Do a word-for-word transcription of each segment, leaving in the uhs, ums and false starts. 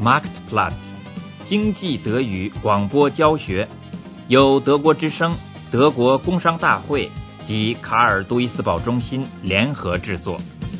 Marktplatz 经济德语广播教学，由德国之声、德国工商大会及卡尔杜伊斯堡中心联合制作。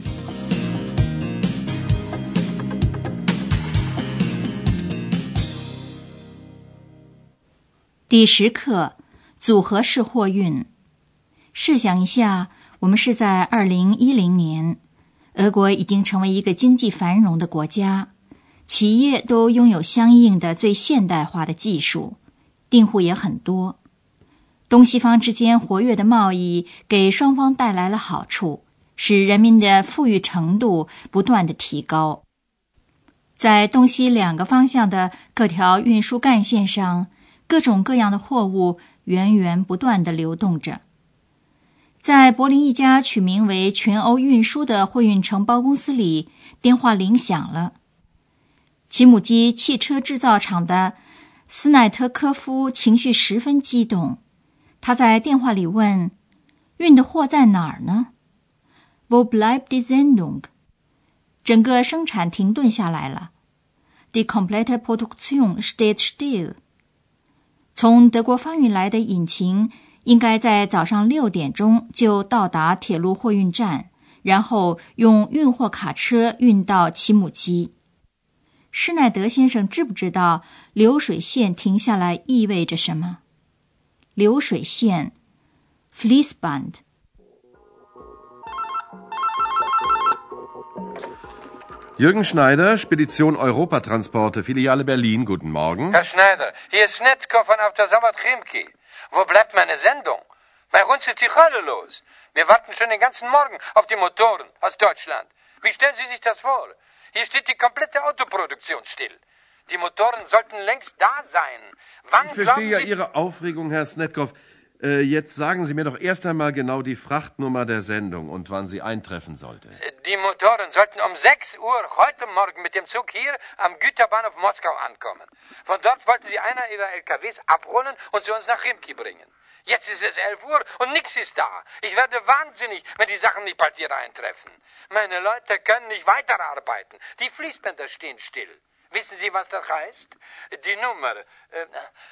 第十课，组合式货运。设想一下，我们是在二零一零年，俄国已经成为一个经济繁荣的国家，企业都拥有相应的最现代化的技术，订户也很多。东西方之间活跃的贸易给双方带来了好处，使人民的富裕程度不断地提高。在东西两个方向的各条运输干线上，各种各样的货物源源不断地流动着。在柏林一家取名为全欧运输的货运承包公司里，电话铃响了。齐姆基汽车制造厂的斯奈特科夫情绪十分激动，他在电话里问：运的货在哪儿呢？ Wo bleibt die Sendung？ 整个生产停顿下来了。 Die komplette Produktion steht still。从德国发运来的引擎应该在早上六点钟就到达铁路货运站，然后用运货卡车运到齐姆基。施耐德先生知不知道流水线停下来意味着什么？流水线 Fließband。 Jürgen Schneider, Spedition Europatransporte, Filiale Berlin. Guten Morgen. Herr Schneider, hier ist Snetkov von Autosawod Chimki. Wo bleibt meine Sendung? Bei uns ist die Hölle los. Wir warten schon den ganzen Morgen auf die Motoren aus Deutschland. Wie stellen Sie sich das vor? Hier steht die komplette Autoproduktion still. Die Motoren sollten längst da sein. Wann ich verstehe ja Sie... Ihre Aufregung, Herr Snetkov. Äh, jetzt sagen Sie mir doch erst einmal genau die Frachtnummer der Sendung und wann sie eintreffen sollte. Die Motoren sollten um sechs Uhr heute Morgen mit dem Zug hier am Güterbahnhof Moskau ankommen. Von dort wollten Sie einer Ihrer L K Ws abholen und zu uns nach Chimki bringen. Jetzt ist es elf Uhr und nichts ist da. Ich werde wahnsinnig, wenn die Sachen nicht bald hier eintreffen. Meine Leute können nicht weiterarbeiten. Die Fließbänder stehen still. Wissen Sie, was das heißt? Die Nummer... Äh,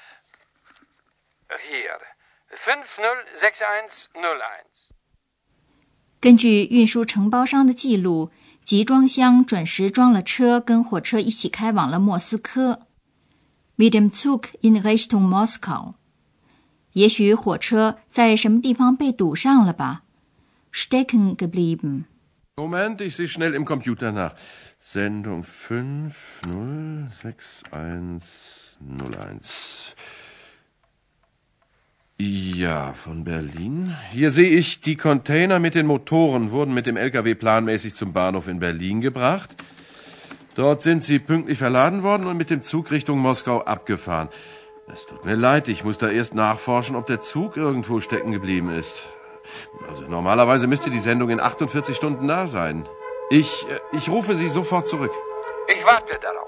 hier... fünf null sechs eins null eins。 根据运输承包商的记录，集装箱准时装了车，跟火车一起开往了莫斯科。Mit dem Zug in Richtung Moskau。 也许火车在什么地方被堵上了吧？ Stecken geblieben。 Moment, ich sehe schnell im Computer nach. Sendung fünf null sechs eins null eins. Ja, von Berlin. Hier sehe ich, die Container mit den Motoren wurden mit dem L K W planmäßig zum Bahnhof in Berlin gebracht. Dort sind sie pünktlich verladen worden und mit dem Zug Richtung Moskau abgefahren. Es tut mir leid, ich muss da erst nachforschen, ob der Zug irgendwo stecken geblieben ist. Also normalerweise müsste die Sendung in achtundvierzig Stunden da sein. Ich, ich rufe Sie sofort zurück. Ich warte darauf.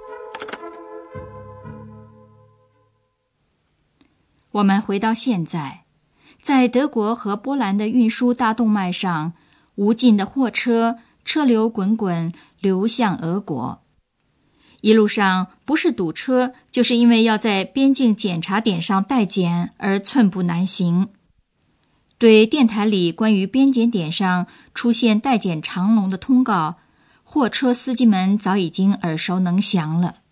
我们回到现在，在德国和波兰的运输大动脉上，无尽的货车车流滚滚流向俄国。一路上不是堵车，就是因为要在边境检查点上待检而寸步难行。对电台里关于边检点上出现待检长龙的通告，货车司机们早已经耳熟能详了。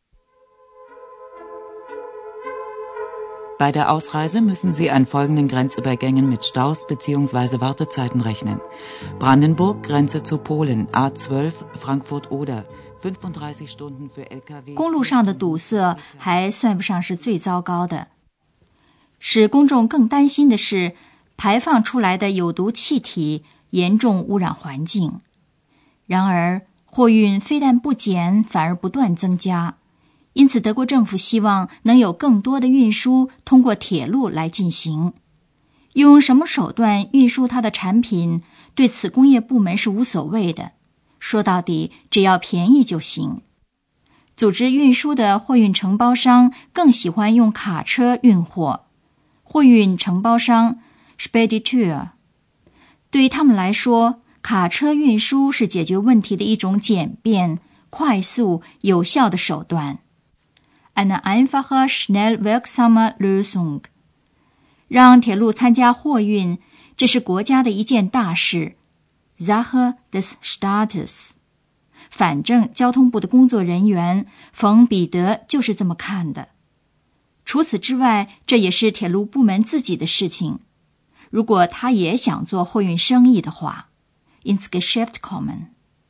Bei der Ausreise müssen Sie an folgenden Grenzübergängen mit Staus bzw. Wartezeiten rechnen. Brandenburg, Grenze zu Polen, A zwölf, Frankfurt-Oder, fünfunddreißig Stunden für L K W。 公路上的堵塞还算不上是最糟糕的，使公众更担心的是排放出来的有毒气体严重污染环境。然而，货运非但不减，反而不断增加。因此，德国政府希望能有更多的运输通过铁路来进行。用什么手段运输它的产品，对此工业部门是无所谓的。说到底，只要便宜就行。组织运输的货运承包商更喜欢用卡车运货。货运承包商 Spediteur。 对于他们来说，卡车运输是解决问题的一种简便、 快速有效的手段。Eine einfache, schnell wirksame Lösung。让铁路参加货运，这是国家的一件大事。Sache des Staates。反正交通部的工作人员冯彼得就是这么看的。除此之外，这也是铁路部门自己的事情。如果他也想做货运生意的话 ins Geschäft kommen。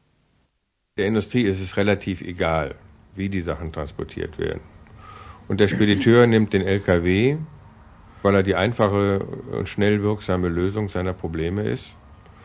Der Industrie ist es relativ egal, wie die Sachen transportiert werden. Und der Spediteur nimmt den L K W, weil er die einfache und schnell wirksame Lösung seiner Probleme ist.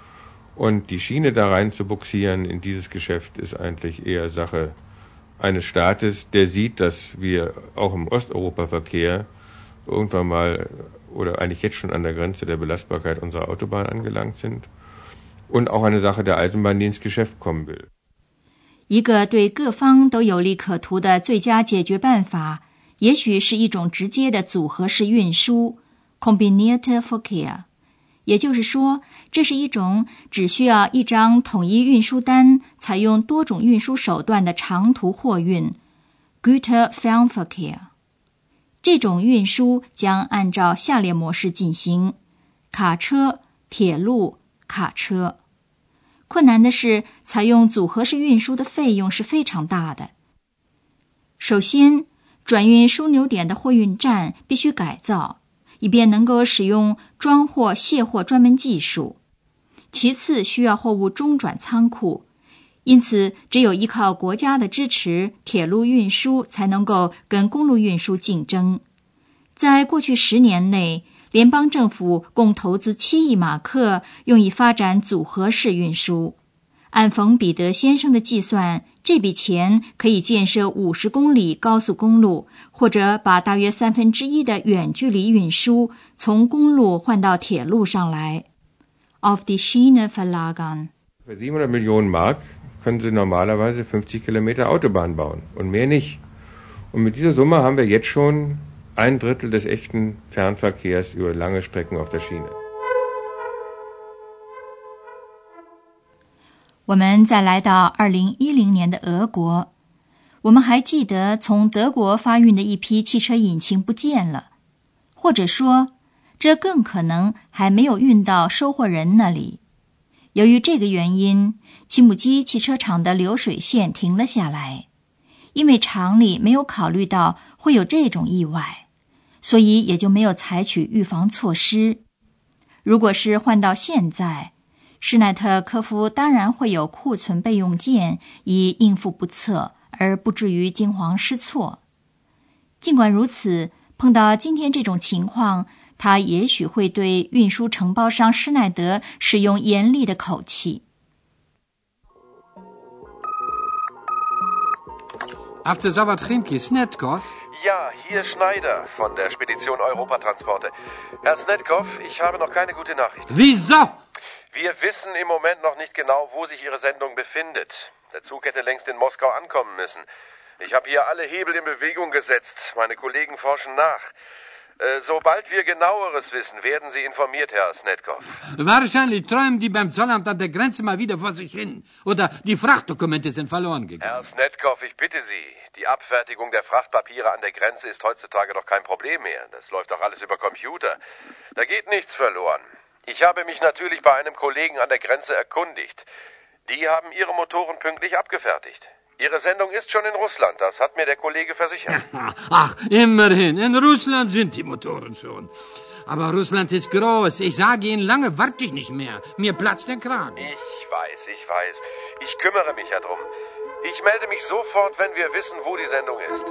Und die Schiene da rein zu buxieren in dieses Geschäft ist eigentlich eher Sache eines Staates, der sieht, dass wir auch im Osteuropa-Verkehr irgendwann mal oder eigentlich jetzt schon an der Grenze der Belastbarkeit unserer Autobahn angelangt sind und auch eine Sache der Eisenbahn, die ins Geschäft kommen will. 一个对各方都有利可图的最佳解决办法，也许是一种直接的组合式运输 （Kombinierte Verkehr）。也就是说，这是一种只需要一张统一运输单，采用多种运输手段的长途货运 Güterfernverkehr。 这种运输将按照下列模式进行：卡车、铁路、卡车。困难的是，采用组合式运输的费用是非常大的。首先，转运枢纽点的货运站必须改造，以便能够使用装货卸货专门技术。其次，需要货物中转仓库，因此只有依靠国家的支持，铁路运输才能够跟公路运输竞争。在过去十年内，联邦政府共投资七亿马克，用以发展组合式运输。按冯彼得先生的计算，这笔钱可以建设五十公里高速公路，或者把大约三分之一的远距离运输从公路换到铁路上来。Auf die Schiene verlagern. Für siebenhundert Millionen Mark können Sie normalerweise fünfzig Kilometer Autobahn bauen und mehr nicht. Und mit dieser Summe haben wir jetzt schon ein Drittel des echten Fernverkehrs über lange Strecken auf der Schiene. 我们再来到二零一零年的俄国，我们还记得从德国发运的一批汽车引擎不见了，或者说，这更可能还没有运到收货人那里。由于这个原因，齐姆基汽车厂的流水线停了下来，因为厂里没有考虑到会有这种意外，所以也就没有采取预防措施。如果是换到现在，施奈特科夫当然会有库存备用件，以应付不测，而不至于惊慌失措。尽管如此，碰到今天这种情况，他也许会对运输承包商施耐德使用严厉的口气。 After Zawad Chimki, Snetkov? Ja, hier Schneider von der Spedition Europatransporte. Herr Snetkov, ich habe noch keine gute Nachricht. Wieso? Wir wissen im Moment noch nicht genau, wo sich Ihre Sendung befindet. Der Zug hätte längst in Moskau ankommen müssen. Ich habe hier alle Hebel in Bewegung gesetzt. Meine Kollegen forschen nach. Äh, sobald wir Genaueres wissen, werden Sie informiert, Herr Snetkov. Wahrscheinlich träumen die beim Zollamt an der Grenze mal wieder vor sich hin. Oder die Frachtdokumente sind verloren gegangen. Herr Snetkov, ich bitte Sie. Die Abfertigung der Frachtpapiere an der Grenze ist heutzutage doch kein Problem mehr. Das läuft doch alles über Computer. Da geht nichts verloren. Ich habe mich natürlich bei einem Kollegen an der Grenze erkundigt. Die haben ihre Motoren pünktlich abgefertigt. Ihre Sendung ist schon in Russland, das hat mir der Kollege versichert. Ach, immerhin, in Russland sind die Motoren schon. Aber Russland ist groß. Ich sage Ihnen, lange warte ich nicht mehr. Mir platzt der Kragen. Ich weiß, ich weiß. Ich kümmere mich ja drum. Ich melde mich sofort, wenn wir wissen, wo die Sendung ist.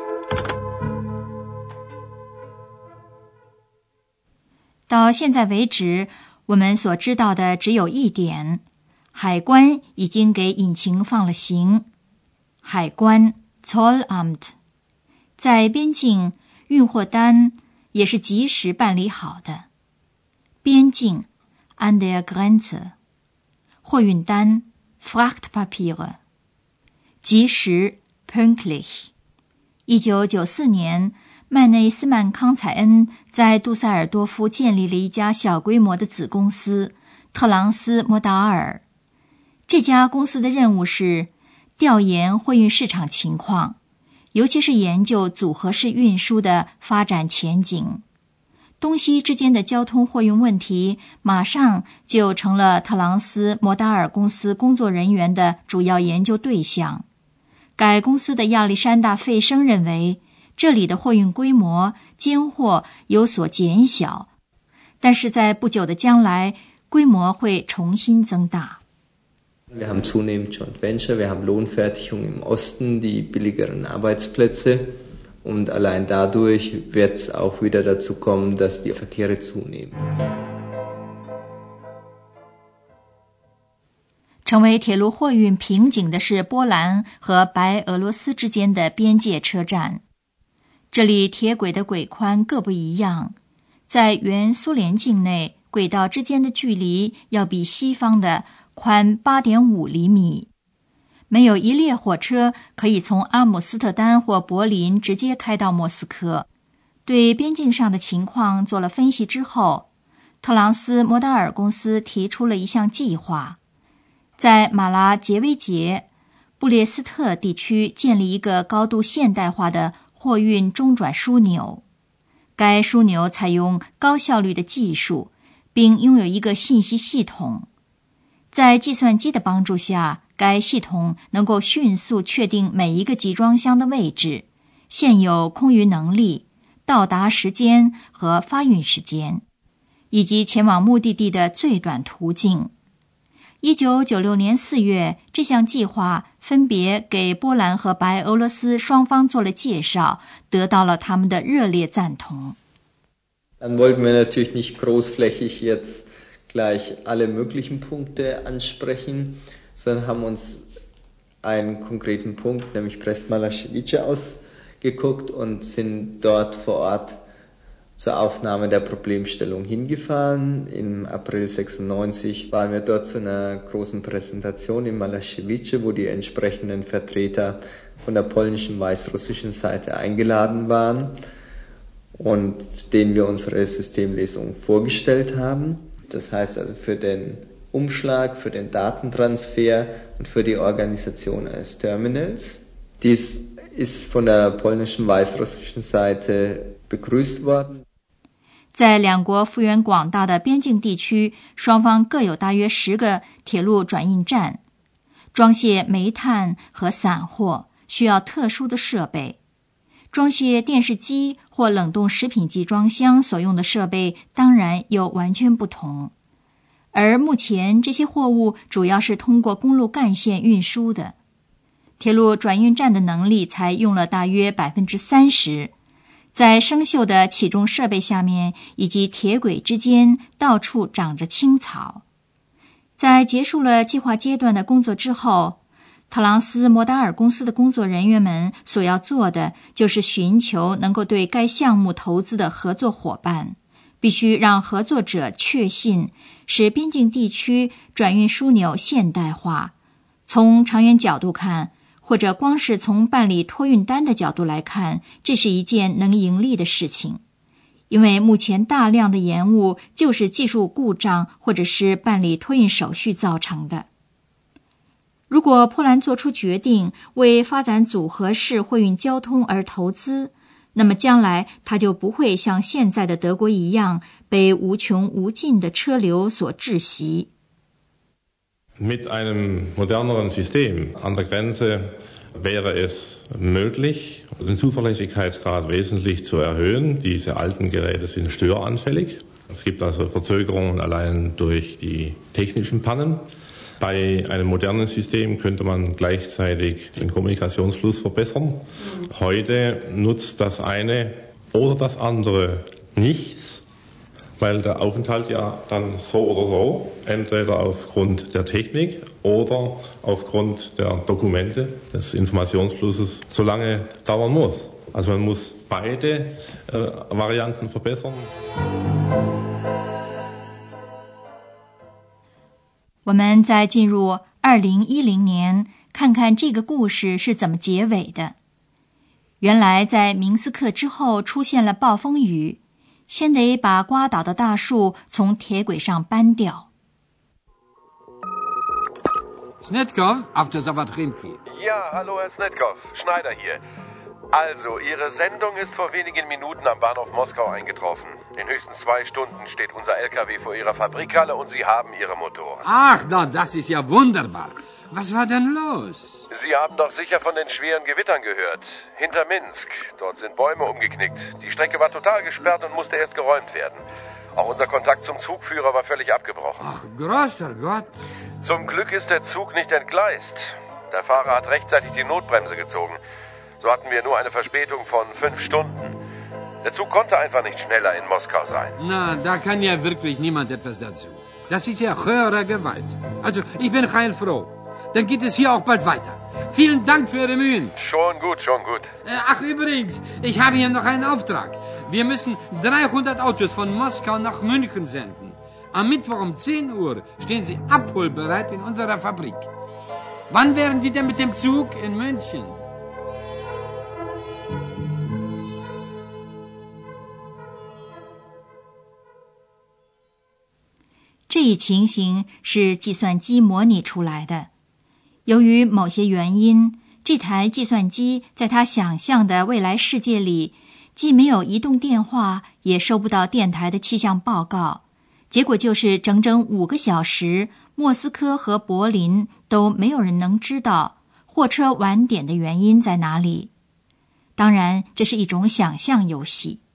到现在为止，我们所知道的只有一点：海关已经给引擎放了行。海关 Zollamt 在边境运货单也是及时办理好的。边境 an der Grenze 货运单 Frachtpapiere 及时 pünktlich。一九九四年，麦内斯曼康采恩在杜塞尔多夫建立了一家小规模的子公司特朗斯摩达尔。这家公司的任务是调研货运市场情况，尤其是研究组合式运输的发展前景。东西之间的交通货运问题马上就成了特朗斯摩达尔公司工作人员的主要研究对象。该公司的亚历山大·费生认为，这里的货运规模间或有所减小，但是在不久的将来，规模会重新增大。 Wir haben zunehmend Joint Venture, wir haben Lohnfertigung im Osten, die billigeren Arbeitsplätze und allein dadurch wird es auch wieder dazu kommen, dass die Verkehre zunehmen. 成为铁路货运瓶颈的是波兰和白俄罗斯之间的边界车站。这里铁轨的轨宽各不一样，在原苏联境内，轨道之间的距离要比西方的宽 八点五厘米。没有一列火车可以从阿姆斯特丹或柏林直接开到莫斯科。对边境上的情况做了分析之后，特朗斯摩达尔公司提出了一项计划，在马拉杰维杰、布列斯特地区建立一个高度现代化的货运中转枢纽。该枢纽采用高效率的技术，并拥有一个信息系统。在计算机的帮助下，该系统能够迅速确定每一个集装箱的位置、现有空余能力、到达时间和发运时间，以及前往目的地的最短途径。一九九六年四月，这项计划分别给波兰和白俄罗斯双方做了介绍，得到了他们的热烈赞同。 Dann wollten wir natürlich nicht großflächig jetzt gleich alle möglichen Punkte ansprechen, sondern haben uns einen konkreten Punkt, nämlich Brest-Malashevice, ausgeguckt und sind dort vor Ort zur Aufnahme der Problemstellung hingefahren. Im April sechsundneunzig waren wir dort zu einer großen Präsentation in Malashevice, wo die entsprechenden Vertreter von der polnischen, weißrussischen Seite eingeladen waren und denen wir unsere Systemlesung vorgestellt haben. Das heißt also für den Umschlag, für den Datentransfer und für die Organisation eines Terminals. Dies ist von der polnischen, weißrussischen Seite begrüßt worden. 在两国幅员广大的边境地区，双方各有大约十个铁路转运站，装卸煤炭和散货需要特殊的设备。装卸电视机或冷冻食品集装箱所用的设备当然又完全不同。而目前这些货物主要是通过公路干线运输的，铁路转运站的能力才用了大约 百分之三十。在生锈的起重设备下面以及铁轨之间到处长着青草。在结束了计划阶段的工作之后，特朗斯摩达尔公司的工作人员们所要做的就是寻求能够对该项目投资的合作伙伴，必须让合作者确信使边境地区转运枢纽现代化。从长远角度看，或者光是从办理托运单的角度来看，这是一件能盈利的事情，因为目前大量的延误就是技术故障或者是办理托运手续造成的。如果波兰做出决定为发展组合式货运交通而投资，那么将来它就不会像现在的德国一样被无穷无尽的车流所窒息。 Mit einem moderneren System an der Grenze wäre es möglich, den Zuverlässigkeitsgrad wesentlich zu erhöhen. Diese alten Geräte sind störanfällig. Es gibt also Verzögerungen allein durch die technischen Pannen. Bei einem modernen System könnte man gleichzeitig den Kommunikationsfluss verbessern. Heute nutzt das eine oder das andere nichts, weil der Aufenthalt ja dann so oder so, entweder aufgrund der Technik oder aufgrund der Dokumente des Informationsflusses, so lange dauern muss. Also man muss beide äh, Varianten verbessern. 我们再进入二零一零年，看看这个故事是怎么结尾的。原来在明斯克之后出现了暴风雨，先得把刮倒的大树从铁轨上搬掉。 Snetkov, after Savatrimki. Ja, hallo Herr Snetkov, Schneider hier. Also, Ihre Sendung ist vor wenigen Minuten am Bahnhof Moskau eingetroffen. In höchstens zwei Stunden steht unser L K W vor Ihrer Fabrikhalle und Sie haben Ihre Motoren. Ach, na, das ist ja wunderbar. Was war denn los? Sie haben doch sicher von den schweren Gewittern gehört. Hinter Minsk. Dort sind Bäume umgeknickt. Die Strecke war total gesperrt und musste erst geräumt werden. Auch unser Kontakt zum Zugführer war völlig abgebrochen. Ach, großer Gott. Zum Glück ist der Zug nicht entgleist. Der Fahrer hat rechtzeitig die Notbremse gezogen. So hatten wir nur eine Verspätung von fünf Stunden. Der Zug konnte einfach nicht schneller in Moskau sein. Na, da kann ja wirklich niemand etwas dazu. Das ist ja höhere Gewalt. Also, ich bin heilfroh. Dann geht es hier auch bald weiter. Vielen Dank für Ihre Mühen. Schon gut, schon gut. Äh, ach, übrigens, ich habe hier noch einen Auftrag. Wir müssen dreihundert Autos von Moskau nach München senden. Am Mittwoch um zehn Uhr stehen sie abholbereit in unserer Fabrik. Wann wären Sie denn mit dem Zug in München? 这一情形是计算机模拟出来的。由于某些原因，这台计算机在他想象的未来世界里，既没有移动电话，也收不到电台的气象报告。结果就是整整五个小时，莫斯科和柏林都没有人能知道货车晚点的原因在哪里。当然，这是一种想象游戏。